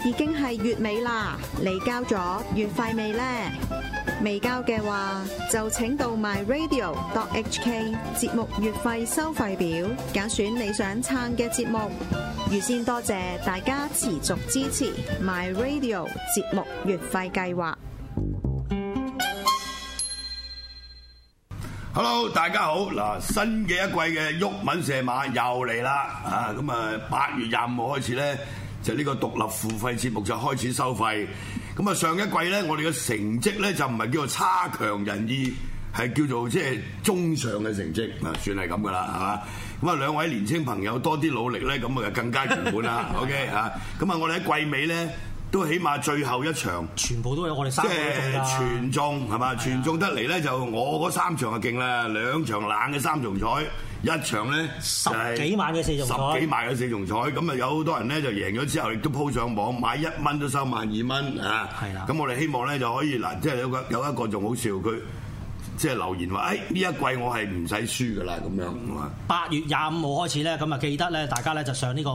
已經係月尾啦，你交咗月費未呢？未交嘅話，就請到 myradio.hk 節目月費收費表，揀選你想撐嘅節目。預先多謝大家持續支持 myradio 節目月費計劃。 Hello， 大家好！嗱，新嘅一季嘅毓民射馬又嚟啦！啊，咁啊8月25號開始咧，就呢個獨立付費節目就開始收費。咁啊上一季咧，我哋嘅成績咧就唔係叫做差強人意，係叫做即係中上嘅成績啊，算係咁噶啦，係嘛？咁啊兩位年青朋友多啲努力咧，咁啊就更加圓滿啦。OK 啊，咁啊我哋喺季尾咧。都起碼最後一場， 全部都有我哋三個中㗎， 即係全中係嘛？全中得嚟咧，就我嗰3場就勁啦，2場冷嘅3重彩，一場咧 10幾萬嘅4重彩 ，10幾萬嘅4重彩，咁啊有好多人咧就贏咗之後，亦都鋪上網買1蚊都收12蚊啊！係啦，咁我哋希望咧就可以嗱，即係有一個仲好笑，佢即係留言話：呢一季我係唔使輸㗎啦，咁樣係嘛 ？8月25號開始咧，咁啊記得咧，大家咧就上呢個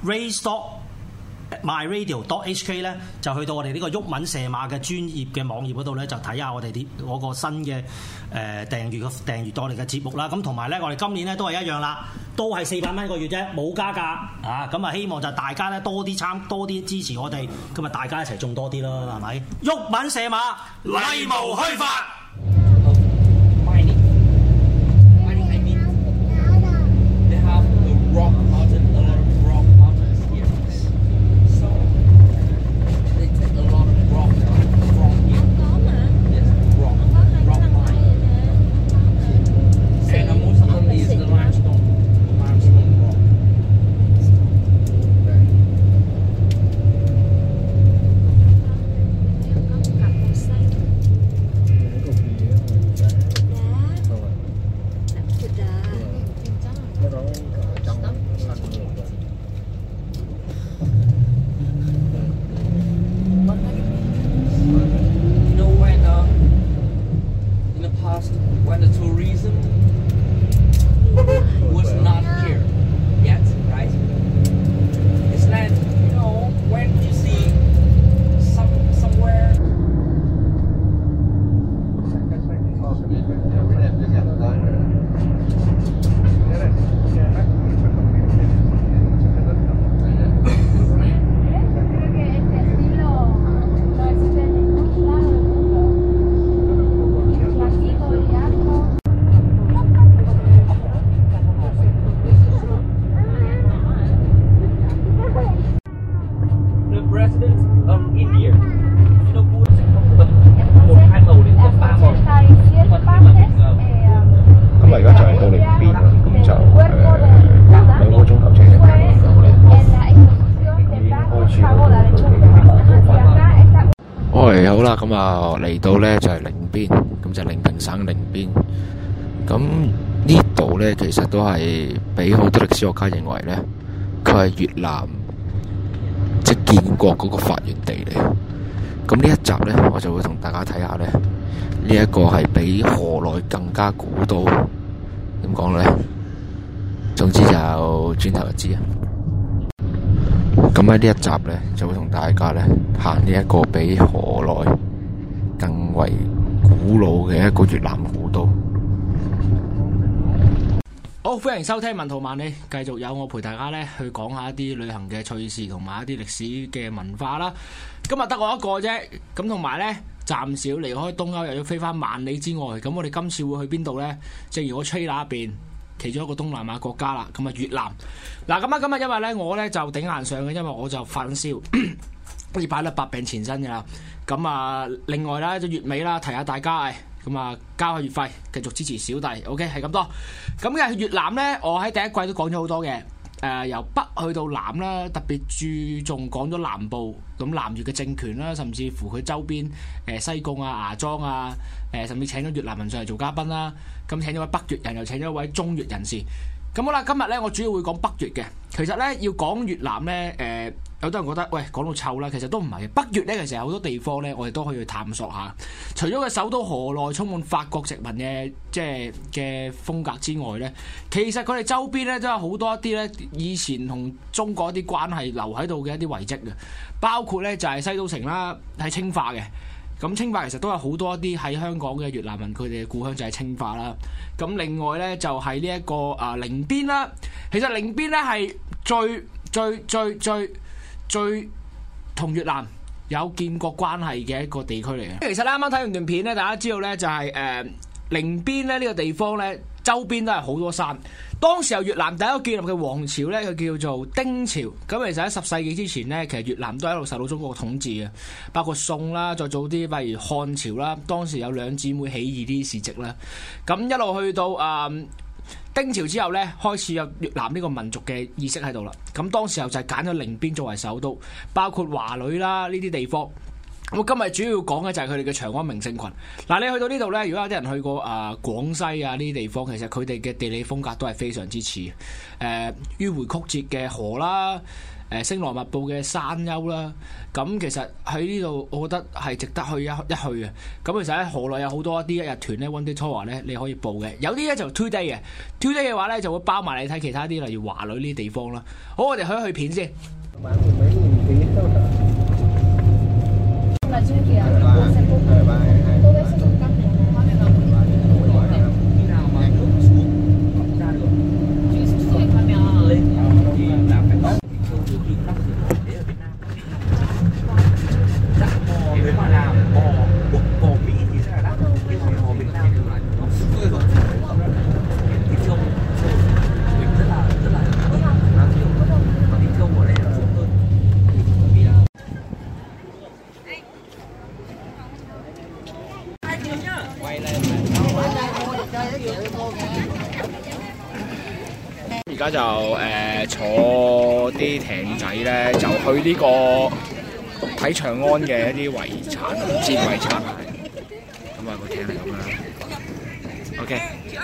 myradio.hk 咧，就去到我哋呢個毓民射馬嘅專業嘅網頁嗰度咧，就睇下我哋嗰個新嘅訂閱我哋嘅節目啦。咁同埋咧，我哋今年咧都係一樣啦，都係400蚊一個月啫，冇加價啊！咁啊，希望就大家咧多啲支持我哋，咁啊大家一齊種多啲咯，係咪？毓民射馬， 例無虛發。 好啦，咁啊嚟到咧就係寧邊，咁就寧平省寧邊。咁呢度咧其實都係俾好多歷史學家認為咧，佢係越南即係建國嗰個發源地嚟。咁呢一集咧，我就會同大家睇下咧，呢一個係比河內更加古都。點講咧？總之就轉頭就知啊！咁喺呢一集咧，就會同大家咧行呢一個比河內更為古老嘅一個越南古都。 好，歡迎收聽文圖萬里，繼續有我陪大家咧去講下一啲旅行嘅趣事同埋一啲歷史嘅文化啦。今日得我一個啫，咁同埋咧暫時要離開東歐，又要飛翻萬里之外。咁我哋今次會去邊度咧？正如我吹那邊。其中一個東南亞國家啦，咁啊越南。嗱咁啊，今日因為咧我咧就頂硬上嘅，因為我就發緊燒，呢排咧百病纏身嘅啦。咁啊，另外啦，就月尾啦，提下大家，咁啊交下月費，繼續支持小弟。OK， 係咁多。咁嘅越南咧，我喺第一季都講咗好多嘅。由北去到南啦，特別注重講咗南部，咁南越嘅政權啦，甚至乎佢周邊西貢啊、芽莊啊，甚至請咗越南人上嚟做嘉賓啦。咁請咗位北越人，又請咗一位中越人士。咁好啦，今日咧我主要會講北越嘅。其實咧要講越南咧， 有多人覺得喂講到臭啦，其實都唔係嘅。北越咧其實有好多地方咧，我哋都可以去探索下。除咗個首都河內充滿法國殖民嘅即係嘅風格之外咧，其實佢哋周邊咧都有好多一啲咧以前同中國一啲關係留喺度嘅一啲遺跡嘅，包括咧就係西都城啦，喺清化嘅。咁清化其實都有好多一啲喺香港嘅越南人，佢哋嘅故鄉就係清化啦。咁另外咧就係呢一個寧邊啦。其實寧邊咧係最同越南有建國關係嘅一個地區嚟嘅。其實咧啱啱睇完段片咧，大家知道咧就係寧邊咧呢個地方咧周邊都係好多山。當時由越南第一個建立嘅王朝咧，佢叫做丁朝。咁其實喺10世紀之前咧，其實越南都一路受到中國嘅統治嘅，包括宋啦，再早啲例如漢朝啦，當時有兩姊妹起義啲事蹟啦。咁一路去到丁朝之後咧，開始有越南呢個民族嘅意識喺度啦。咁當時候就係揀咗寧邊作為首都，包括華女啦呢啲地方。我今日主要講嘅就係佢哋嘅長安名勝群。嗱，你去到呢度呢，如果有啲人去過廣西啊呢啲地方，其實佢哋嘅地理風格都係非常之似。迂迴曲折嘅河啦，星羅密布嘅山丘啦。咁其實喺呢度，我覺得係值得去一去嘅。咁其實喺河內有好多一啲一日團咧 one day tour 咧，你可以報嘅。有啲咧就 two day 嘅 ，two day 嘅話咧就會包埋你睇其他啲，例如華女呢啲地方啦。好，我哋去片先。而家就坐啲艇仔咧，就去呢個睇長安嘅一啲遺產，戰遺產。咁啊，個艇係咁樣啦。OK。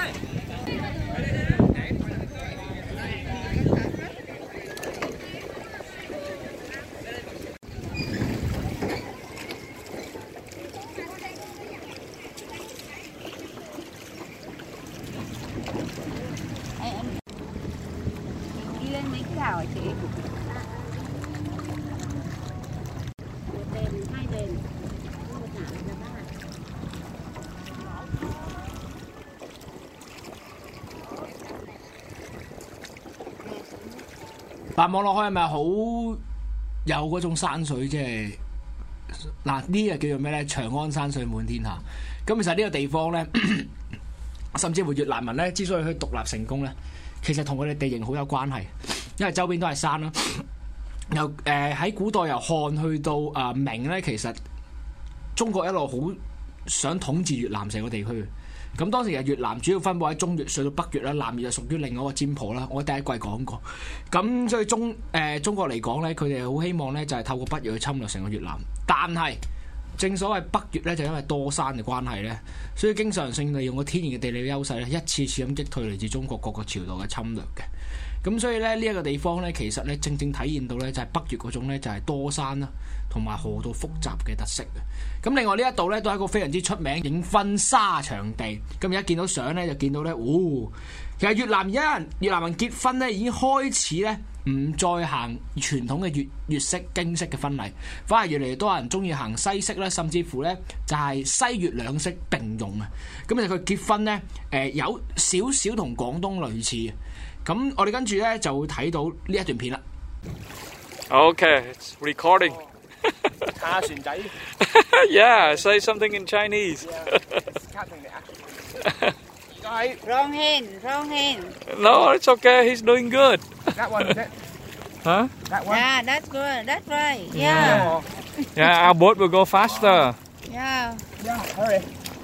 嗱，望落去係咪好有嗰種山水？即係嗱，呢個叫做咩咧？長安山水滿天下。咁其實呢個地方咧，甚至乎越南人咧，之所以可以獨立成功咧，其實同佢哋地形好有關係，因為周邊都係山啦。由喺古代由漢去到明咧，其實中國一路好想統治越南成個地區。咁當時越南主要分佈喺中越，上到北越啦，南越就屬於另外一個占婆啦。我第一季講過。咁所以中國嚟講咧，佢哋好希望咧就係透過北越去侵略成個越南。但係正所謂北越咧，就因為多山嘅關係咧，所以經常性利用個天然嘅地理優勢咧，一次次咁擊退嚟自中國各個朝代嘅侵略嘅。咁所以咧呢一個地方咧，其實咧正正體現到咧就係北越嗰種咧就係多山啦，同埋河道複雜嘅特色嘅。咁另外呢一度咧都係一個非常之出名影婚紗場地。咁而家見到相咧就見到咧，其實越南人結婚咧已經開始咧唔再行傳統嘅粵式京式嘅婚禮，反而越嚟越多人中意行西式啦，甚至乎咧就係西粵兩式並用啊。咁其實佢結婚咧有少少同廣東類似。咁我哋跟住咧就會睇到呢一段片啦。 Okay, it's recording. 下船仔。 Yeah, say something in Chinese. Wrong hand. No, it's okay. He's doing good. That one is it? Huh? That one. Yeah, that's good. That's right. Yeah. Yeah, our boat will go faster. Yeah. Yeah, hurry.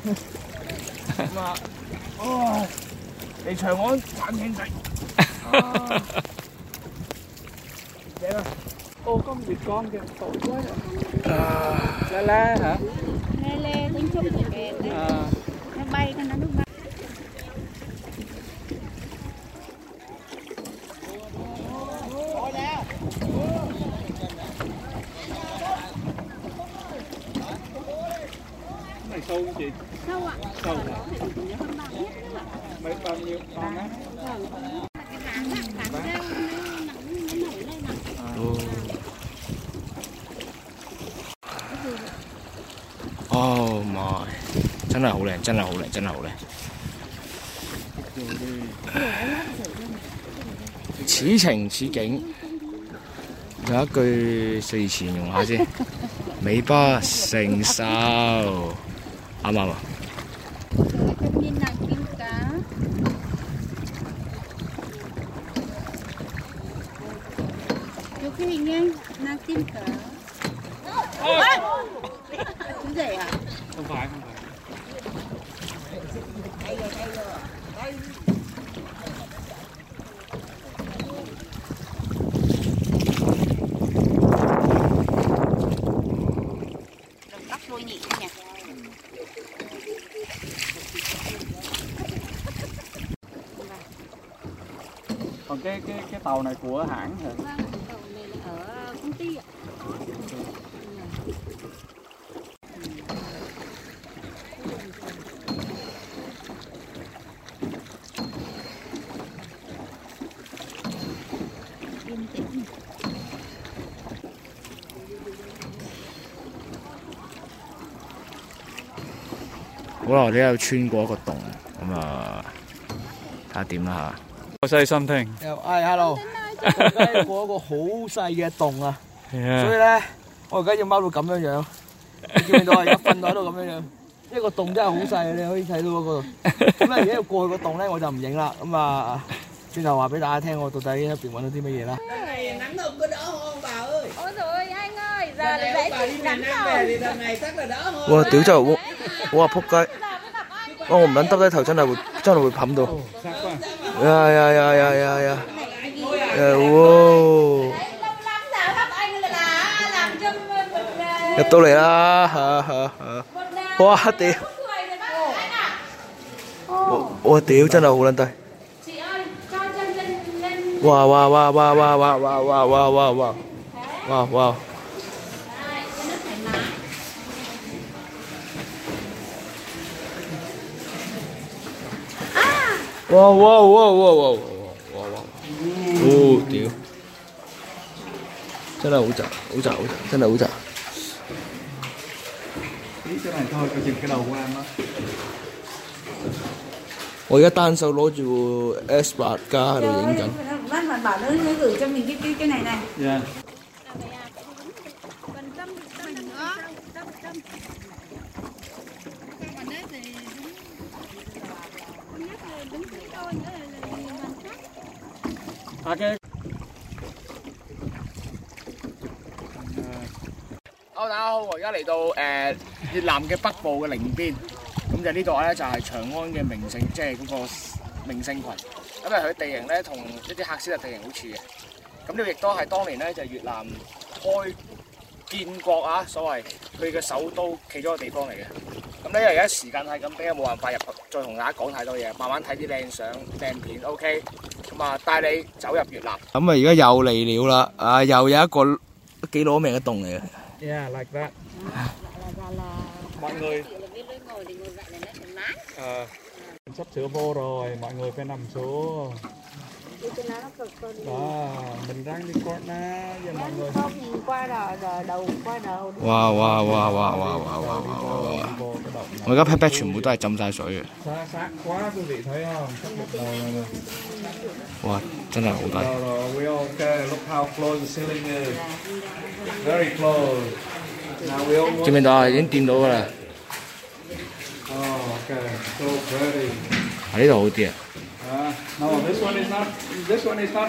嚟長安玩艇仔。今月光嘅浮龜啦嚇。 Lê tiếng Trung thì kẹt đấy. Nó bay cái nó bay. sâu không chị? Sâu ạ. Sâu hả? Hơn 3 mét nữa. Bao nhiêu? 3 mét? Vâng. Cái háng á, háng rêu nó nổi lên nè. Oh my， 真係好靚，真係好靚，真係好靚。此情此景，有一句四字形容下先，美不勝收，啱唔啱啊？ Cái nhìn nàng kim cá. Chụp cái hình nhanh, nàng kim cá. Chú rể à? Không phải, không phải. Đừng tóc đôi nhị nha. Còn cái tàu này của hãng hả? Vâng, tàu này là ở công ty ạ. Yên tĩnh. 好啦，我哋有穿過一個洞，咁啊睇下點啦嚇。 Say something. ，hello， 我而家過一個好細嘅洞啊，所以 Yeah. 咧我而家要踎到咁樣樣，你見唔見到啊？而家瞓到喺度咁樣樣，呢個洞真係好細，你可以睇到嗰個。咁咧而家要過去個洞咧，我就唔影啦。咁啊，轉頭話俾大家聽，我到底喺入邊揾到啲乜嘢啦。 Nắng nực có đỡ không bà ơi? Ôi dồi ôi anh ơi, giờ Lần lại này bà dậy đi thì miền nắng Nam về rồi. thì lần này chắc là đỡ hơn. 哇！屌真係我話仆街，我唔撚耷低頭真係會冚到。呀！哇！ Lâu lắm giờ các anh là làm cho mình 入到嚟啦嚇！哇！屌！ người rồi bác anh ạ. 我屌真係好撚低！ Chị ơi, cho chân lên. 哇！ Đấy, cho nó thoải mái. Wow！ 屌！真係好窄，真係好窄。 Tí cái này thôi, coi chừng cái đầu của em á. 我而家單手攞住 S8 加喺度影緊。 Bác mà bảo nó gửi cho mình cái này này. Yeah. Còn tâm nữa. Tâm. Còn đấy thì đúng. Con nhắc là đúng cái đôi nữa là hoàn khác. Okay. Hello，大家好，我而家嚟到越南嘅北部嘅寧邊，咁就呢度咧就係長安嘅名勝，即係嗰個名勝群。咁佢地形咧同一啲喀斯特地形好似嘅。咁呢個亦都係當年咧就係越南開建國啊，所謂佢嘅首都其中一個地方嚟嘅。咁咧因為而家時間係咁，比較冇辦法入再同大家講太多嘢，慢慢睇啲靚相靚片 ，OK。咁啊，帶你走入越南。 咁啊，而家又嚟了啦！啊，又有一個幾攞命嘅洞嚟嘅。 Yeah, like that. Là Mọi người chị là bên lối ngồi thì ngồi vậy là nó thoải mái. sắp sửa vô rồi, mọi người phải nằm xuống. Đi cho nó cực hơn. Đó, mình ráng đi corner cho mọi người. Không nhìn qua rồi đầu qua đầu. 哇！ Vô cái động 我而家 pat pat 全部都係浸晒水嘅。 sát quá quý vị thấy không? Sắp một đầu này nè. 哇！真係好低。 Rồi, we okay. Look how close the ceiling is. Very close. Now we all 見唔見到啊？已經掂到㗎啦。 Oh, okay. So pretty. 喺呢度好啲啊。 No, this one is not. This one is not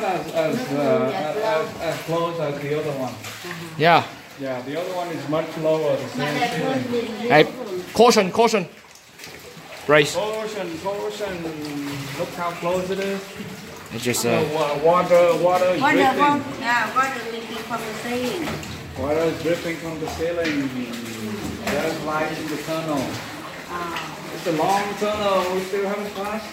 as close as the other one. Yeah. Yeah, the other one is much lower. The same ceiling. Hey, caution. Brace. Caution. Look how close it is. It's just The water is Water dripping. không? Yeah, water leaking from the ceiling. Water is dripping from the ceiling. There's light in the tunnel. It's a long tunnel. We still haven't passed.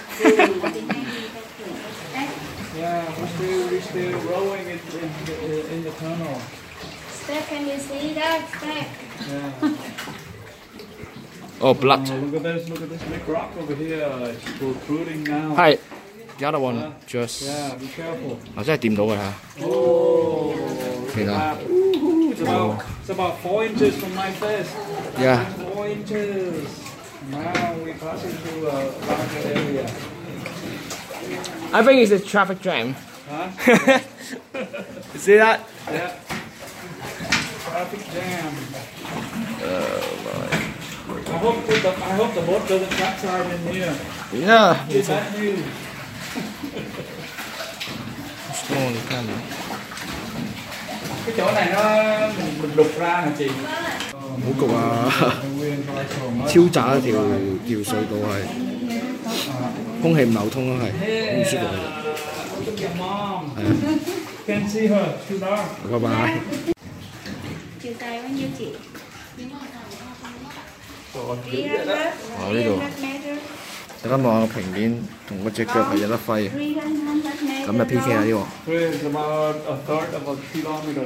Yeah, we're still rowing in the tunnel. Step, can you see that? Step. Yeah. Oh, blood. Look at this big rock over here. It's protruding now. 係 the other one just Yeah, be careful. 真係掂到㗎嚇。 Oh, You know. it's about 4 inches from my face. Yeah. 4 inches. Now we're passing through a larger area. I think it's a traffic jam. Huh? You see that? Yeah. Traffic jam. I hope the boat doesn't capsize in here. Yeah. It's bad news. Cái chỗ này mình đục ra hả chị? 好焗啊！超窄一條隧道係，空氣唔流通咯，係好唔舒服嘅。 Look at your mom. Can't see her. Too dark. 拜拜。 Chiều dài bao nhiêu chị? 呢度大家望下個平面，同嗰隻腳係有得揮嘅，咁就 PK 下呢個。 It's about a third of a kilometer.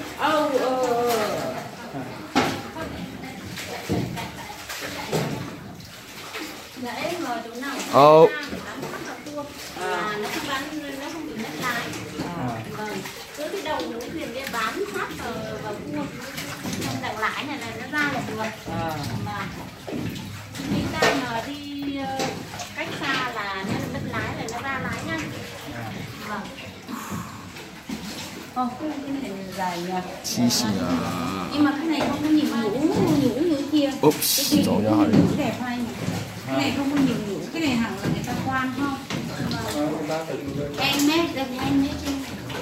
Dạ em ngồi chỗ nào Ồ. là nó không bị mất lái. Vâng. Cứ cái đầu mũi thuyền kia bám sát vào cua. Trong đằng lái này nó ra là được. Mà khi ta mà đi cách xa là nó mất lái là nó ra lái nhanh. Vâng. Cái này dài nhỉ? 黐線啊 Nhưng mà cái này không có nhiều nhũ như kia. ！Oops， Cái kia 撞咗 nhũ 係。 đẹp hay nhỉ? Cái này không có nhiều nhũ, cái này hẳn là người ta quan không? Handmade, đây handmade trên.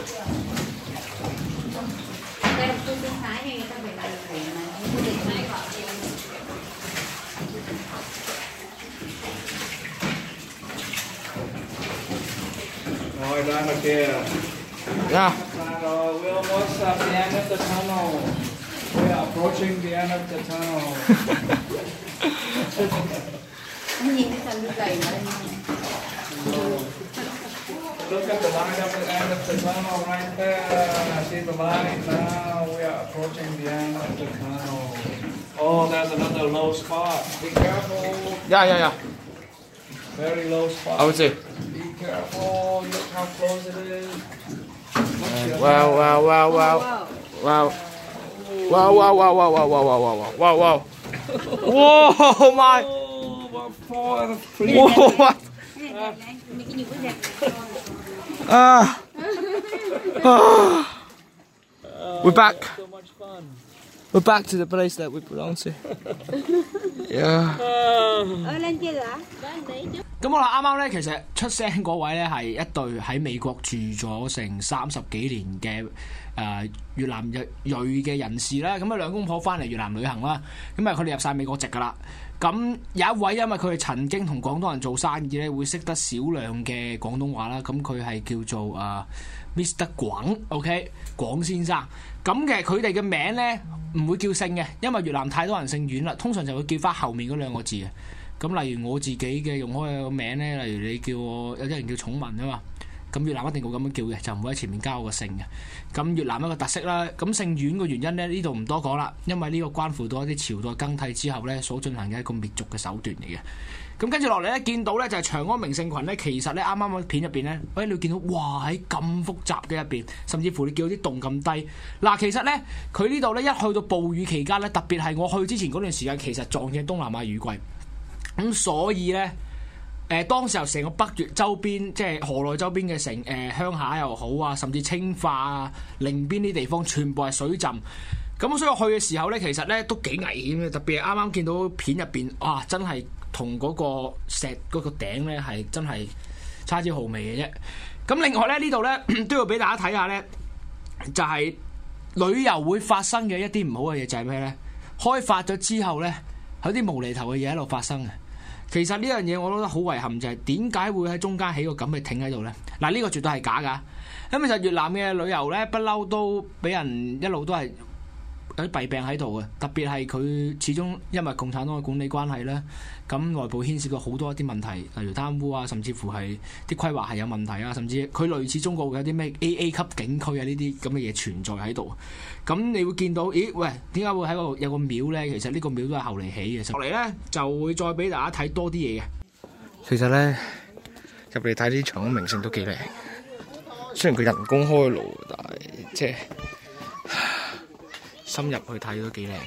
Đây là tôi bên Thái này người ta phải làm để mà không được mai gọi tiền. Rồi ra ngoài kia. Yeah. Rồi, we're almost at the end of the tunnel. We are approaching the end of the tunnel. Anh nhìn cái phần cày mà đây. Look at the line of the end of the tunnel right there. See the line now. We are approaching the end of the tunnel. Oh, there's another low spot. Be careful. Yeah. Very low spot. I would say. Be careful. Look how close it is. Wow. Whoa, my. Oh, about 4 and 3. Whoa, what? Cái này đẹp này, mấy cái nhũ cái đẹp này. We're back. So much fun. We're back to the place that we belong to. Yeah. Lên kia rồi hả? 咁我啦，啱啱咧，其實出聲嗰位咧係一對喺美國住咗成30幾年嘅越南裔嘅人士啦。咁啊兩公婆翻嚟越南旅行啦，咁啊佢哋入晒美國籍噶啦。咁有一位因為佢哋曾經同廣東人做生意咧，會識得少量嘅廣東話啦。咁佢係叫做Mr. 廣 ，OK 廣先生。咁嘅佢哋嘅名咧唔會叫姓嘅，因為越南太多人姓阮啦，通常就會叫翻後面嗰兩個字嘅。咁例如我自己嘅用開嘅名咧，例如你叫我有啲人叫寵文啊嘛，咁越南一定會咁樣叫嘅，就唔會喺前面加我個姓嘅。咁越南一個特色啦，咁姓阮嘅原因咧呢度唔多講啦，因為呢個關乎到一啲朝代更替之後咧所進行嘅一個滅族嘅手段嚟嘅。咁跟住落嚟咧，見到咧就係長安名勝群咧，其實咧啱啱嗰片入邊咧，你會見到哇喺咁複雜嘅入邊，甚至乎你見到啲洞咁低。嗱，其實咧佢呢度咧一去到暴雨期間咧，特別係我去之前嗰段時間，其實撞正東南亞雨季。咁所以咧，當時候成個北越周邊，即係河內周邊嘅鄉下又好啊，甚至清化啊、寧邊啲地方，全部係水浸。咁所以我去嘅時候咧，其實咧都幾危險嘅，特別係啱啱見到片入邊，哇！真係同嗰個石嗰個頂咧係真係差之毫微嘅啫。咁另外咧呢度咧都要俾大家睇下咧，就係旅遊會發生嘅一啲唔好嘅嘢就係咩咧？開發咗之後咧，有啲無厘頭嘅嘢喺度發生嘅。其實呢樣嘢我覺得好遺憾，就係點解會喺中間起個咁嘅艇喺度呢？嗱，呢個絕對係假㗎。咁其實越南嘅旅遊呢，不嬲都俾人一路都係有啲弊病喺度嘅，特別係佢始終因為共產黨嘅管理關係咧，咁內部牽涉到好多一啲問題，例如貪污啊，甚至乎係啲規劃係有問題啊，甚至佢類似中國有啲咩 AA 級景區啊呢啲咁嘅嘢存在喺度。咁你會見到，咦喂，點解會喺度有個廟咧？其實呢個廟都係後嚟起嘅。落嚟咧就會再俾大家睇多啲嘢嘅。 其實咧入嚟睇啲長安名勝都幾靚，雖然佢人工開爐，但係即係深入去睇都幾靚。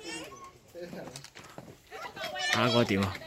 大家覺得點啊？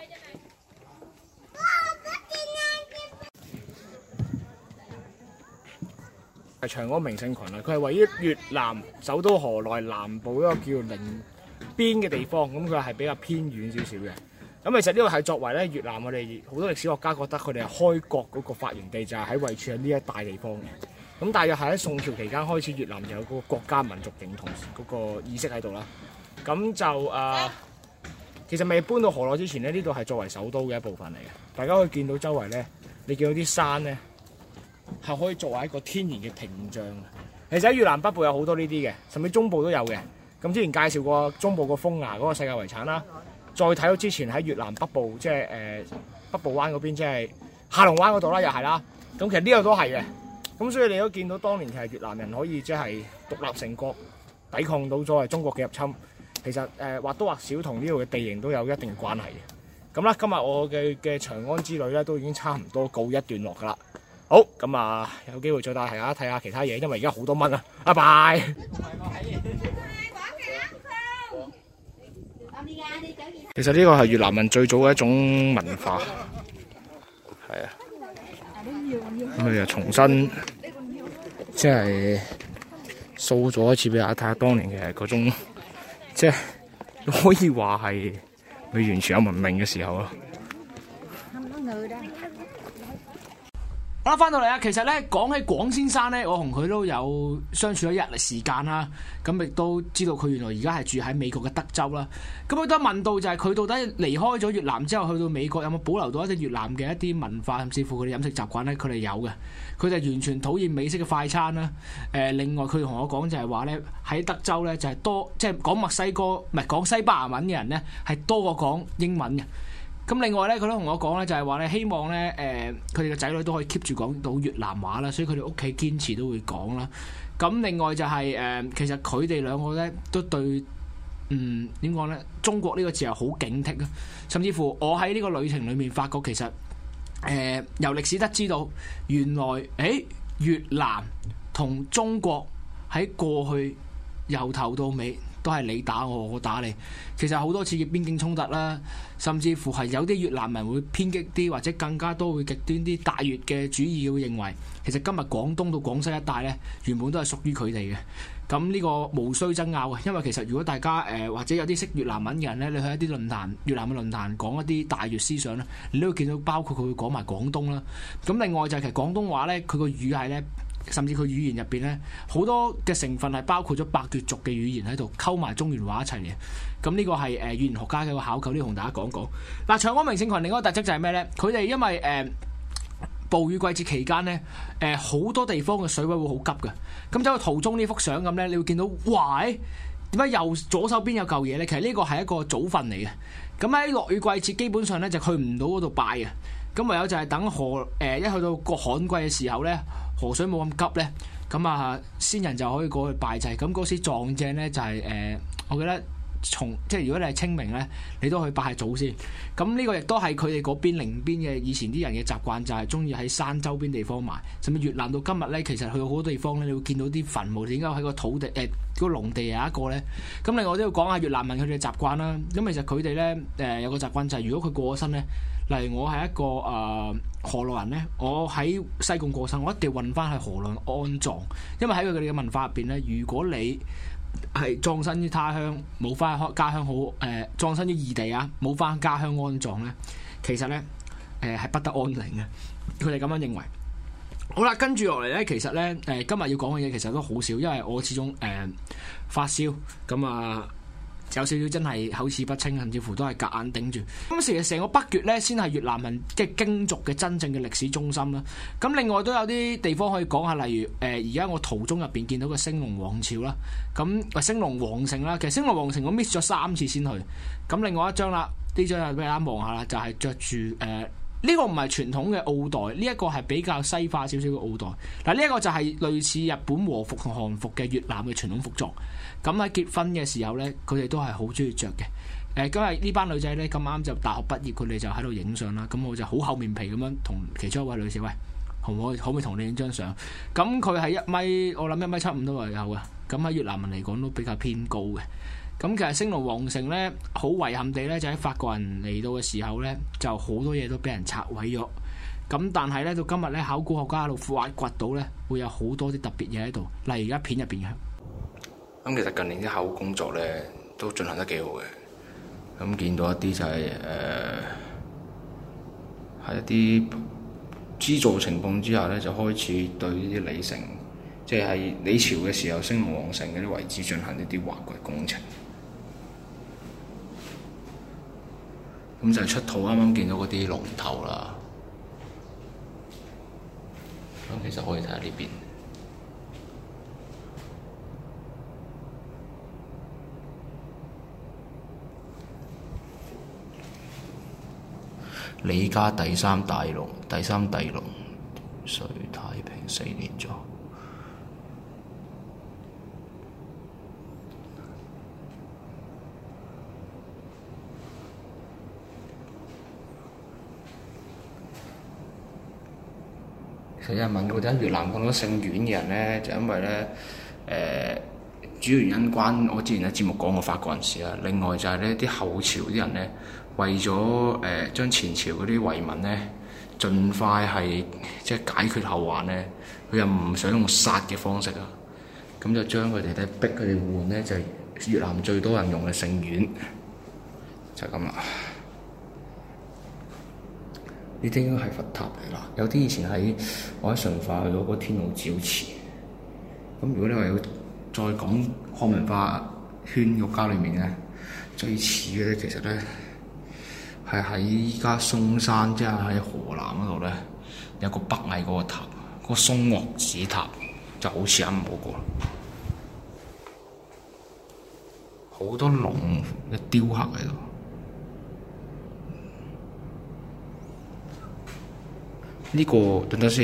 係長安名勝群啊！佢係位於越南首都河內南部一個叫寧邊嘅地方，咁佢係比較偏遠少少嘅。咁其實呢個係作為咧越南我哋好多歷史學家覺得佢哋係開國嗰個發源地，就係喺位處喺呢一帶地方嘅。咁大約係喺宋朝期間開始，越南就有嗰個國家民族認同嗰個意識喺度啦。咁就其實未搬到河內之前咧，呢度係作為首都嘅一部分嚟嘅。大家可以見到周圍咧，你見到啲山咧係可以作為一個天然嘅屏障。其實喺越南北部有好多呢啲嘅，甚至中部都有嘅。咁之前介紹過中部個風崖嗰個世界遺產啦。再睇到之前喺越南北部，即係北部灣嗰邊，即係下龍灣嗰度啦，又係啦。咁其實呢度都係嘅。咁所以你都見到當年其實越南人可以即係獨立成國，抵抗到咗中國嘅入侵。其實或多或少同呢度嘅地形都有一定關係嘅。咁啦，今日我嘅長安之旅咧都已經差唔多告一段落㗎啦。好，咁有機會再帶大家睇下其他嘢，因為而家好多蚊啊。拜拜。其實呢個係越南人最早嘅一種文化，係啊，咁佢就重新即係掃咗一次俾大家睇下當年嘅嗰種，即係可以話係未完全有文明嘅時候咯。 好啦，翻到嚟啊！其實咧講起廣先生咧，我同佢都有相處咗一日時間啦。咁亦都知道佢原來而家係住喺美國嘅德州啦。咁佢都問到就係佢到底離開咗越南之後去到美國有冇保留到一啲越南嘅一啲文化，甚至乎佢哋飲食習慣咧？佢哋有嘅。佢哋完全討厭美式嘅快餐啦。另外佢同我講就係話咧喺德州咧就係多即係講墨西哥唔係講西班牙文嘅人咧係多過講英文嘅。咁另外咧，佢都同我講咧，就係話咧，希望咧，佢哋嘅仔女都可以 keep 住講到越南話啦，所以佢哋屋企堅持都會講啦。咁另外就係其實佢哋兩個咧都對點講咧，中國呢個字係好警惕啊。甚至乎我喺呢個旅程裏面發覺，其實由歷史得知道，原來越南同中國喺過去由頭到尾都係你打我，我打你。其實好多次嘅邊境衝突啦，甚至乎係有啲越南人會偏激啲，或者更加多會極端啲大越嘅主義會認為，其實今日廣東到廣西一帶呢，原本都係屬於佢哋嘅。咁呢個無需爭拗嘅，因為其實如果大家或者有啲識越南文嘅人呢，你去一啲論壇，越南嘅論壇講一啲大越思想呢，你都會見到包括佢會講埋廣東啦。咁另外就係其實廣東話呢，佢個語系呢，甚至佢語言入邊咧，好多嘅成分係包括咗百越族嘅語言喺度，溝埋中原話一齊嘅。咁呢個係語言學家嘅一個考究，呢同大家講講。嗱，長安名勝群另一個特質就係咩咧？佢哋因為暴雨季節期間咧，好多地方嘅水位會好急嘅。咁走去途中呢幅相咁咧，你會見到，哇！點解右左手邊有嚿嘢咧？其實呢個係一個祖墳嚟嘅。咁喺落雨季節，基本上咧就去唔到嗰度拜嘅。咁唯有就係等一去到個旱季嘅時候咧，河水冇咁急咧，咁先人就可以過去拜祭。咁嗰時撞正咧就係我記得即係如果你係清明咧，你都去拜下祖先。咁呢個亦都係佢哋嗰邊寧邊嘅以前啲人嘅習慣，就係中意喺山周邊地方埋。甚至越南到今日咧，其實去到好多地方咧，你會見到啲墳墓，點解喺個土地嗰個農地有一個咧？咁另外都要講下越南人佢哋嘅習慣啦。咁其實佢哋咧有個習慣就係，如果佢過咗身咧，例如我係一個河內人咧，我喺西貢過身，我一定要運翻去河內安葬，因為喺佢哋嘅文化入邊咧，如果你係葬身於他鄉，冇翻家鄉好葬身於異地啊，冇翻家鄉安葬咧，其實咧係不得安寧嘅，佢哋咁樣認為。好啦，跟住落嚟咧，其實咧今日要講嘅嘢其實都好少，因為我始終發燒咁有少少真係口齒不清，甚至乎都係夾硬頂住。咁其實成個北越咧，先係越南人嘅京族嘅真正嘅歷史中心啦。咁另外都有啲地方可以講下，例如而家我途中入邊見到個升龍王朝啦，咁升龍皇城啦。其實升龍皇城我 miss 咗3次先去。咁另外一張啦，呢張又俾大家望下啦，就係着住呢個唔係傳統嘅奧黛，呢一個係比較西化少少嘅奧黛。嗱，呢一個就係類似日本和服同韓服嘅越南嘅傳統服裝。咁喺結婚嘅時候呢，佢哋都係好中意着嘅。今日呢班女仔呢，咁啱就大學畢業，佢哋就喺度影相啦。咁我就好厚面皮咁樣同其中一位女士，喂，可唔可以同你影張相？咁佢係我諗1.75米都係有嘅。咁喺越南人嚟講都比較偏高嘅。咁其實升龍皇城呢，好遺憾地呢，就喺法國人嚟到嘅時候呢，就好多嘢都俾人拆毀咗。咁但係呢，到今日呢，考古學家喺度挖掘到呢，會有好多啲特別嘢喺度，例如而家片入邊嘅。 咁其實近年啲考古工作呢，都進行得幾好嘅。咁見到一啲就係喺一啲資助情況之下呢，就開始對呢啲李城，即係喺李朝嘅時候升龍皇城嗰啲遺址進行呢啲挖掘工程。咁就係出土啱啱見到嗰啲龍頭啦。咁其實可以睇下呢邊，李家第三帝龍，隋太平4年咗。其實有人問過點解越南咁多姓阮嘅人呢？就因為呢，主要原因關我之前喺節目講過法國人事啦。另外就係呢啲後朝啲人呢，為咗將前朝嗰啲遺民呢，盡快係即係解決後患呢，佢又唔想用殺嘅方式啊，咁就將佢哋咧逼佢哋換呢，就係越南最多人用嘅姓阮，就係咁啦。呢啲應該係佛塔嚟啦，有啲以前我喺順化去到嗰天王寺。咁如果你話要再講漢文化圈國家裏面咧，最似嘅咧，其實咧係喺依家嵩山，即係喺河南嗰度咧，有個北魏嗰個塔，嗰個嵩岳寺塔就好似啱嗰個，好多龍嘅雕刻喺度。呢個等等先。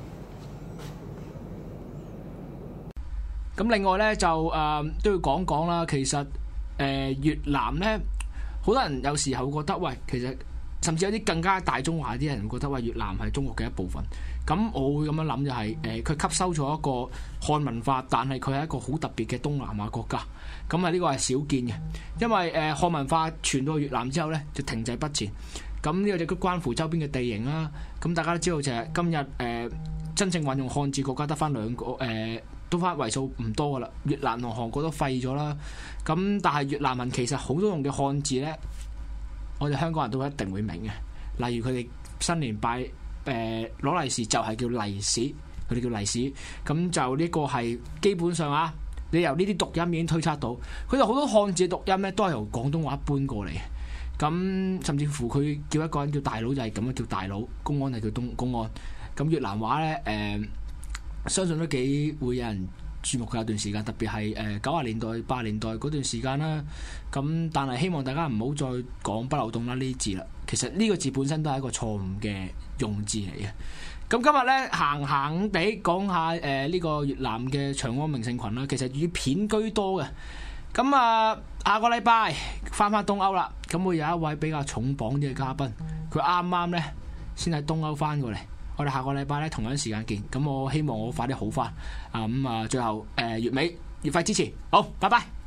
咁另外咧就都要講講啦。其實越南咧，好多人有時候覺得，喂，其實甚至有啲更加大中華啲人覺得，喂，越南係中國嘅一部分。咁我會咁樣諗就係佢吸收咗一個漢文化，但係佢係一個好特別嘅東南亞國家。咁呢個係少見嘅，因為漢文化傳到越南之後咧，就停滯不前。咁呢個就都關乎周邊嘅地形啦。咁大家都知道就係今日真正運用漢字國家得翻2個，都翻為數唔多噶啦。越南同韓國都廢咗啦。咁但係越南人其實好多用嘅漢字呢，我哋香港人都一定會明嘅。例如佢哋新年拜攞利是就係叫利是，佢哋叫利是。咁就呢個係基本上啊，你由呢啲讀音已經推測到，佢哋好多漢字嘅讀音呢都係由廣東話搬過嚟。咁甚至乎佢叫一個人叫大佬就係咁樣叫大佬，公安係叫公安。咁越南話呢，相信都幾會有人注目佢有段時間，特別係90年代、80年代嗰段時間啦。咁但係希望大家唔好再講不流動啦呢啲字啦。其實呢個字本身都係一個錯誤嘅用字嚟嘅。咁今日呢，行地講下呢個越南嘅長安名勝群啦。其實以片居多嘅。咁下個禮拜翻東歐啦，咁會有一位比較重磅啲嘅嘉賓，佢啱啱呢先喺東歐翻過嚟，我哋下個禮拜呢同樣時間見，咁我希望我快啲好翻，最後月尾月費支持，好，拜拜。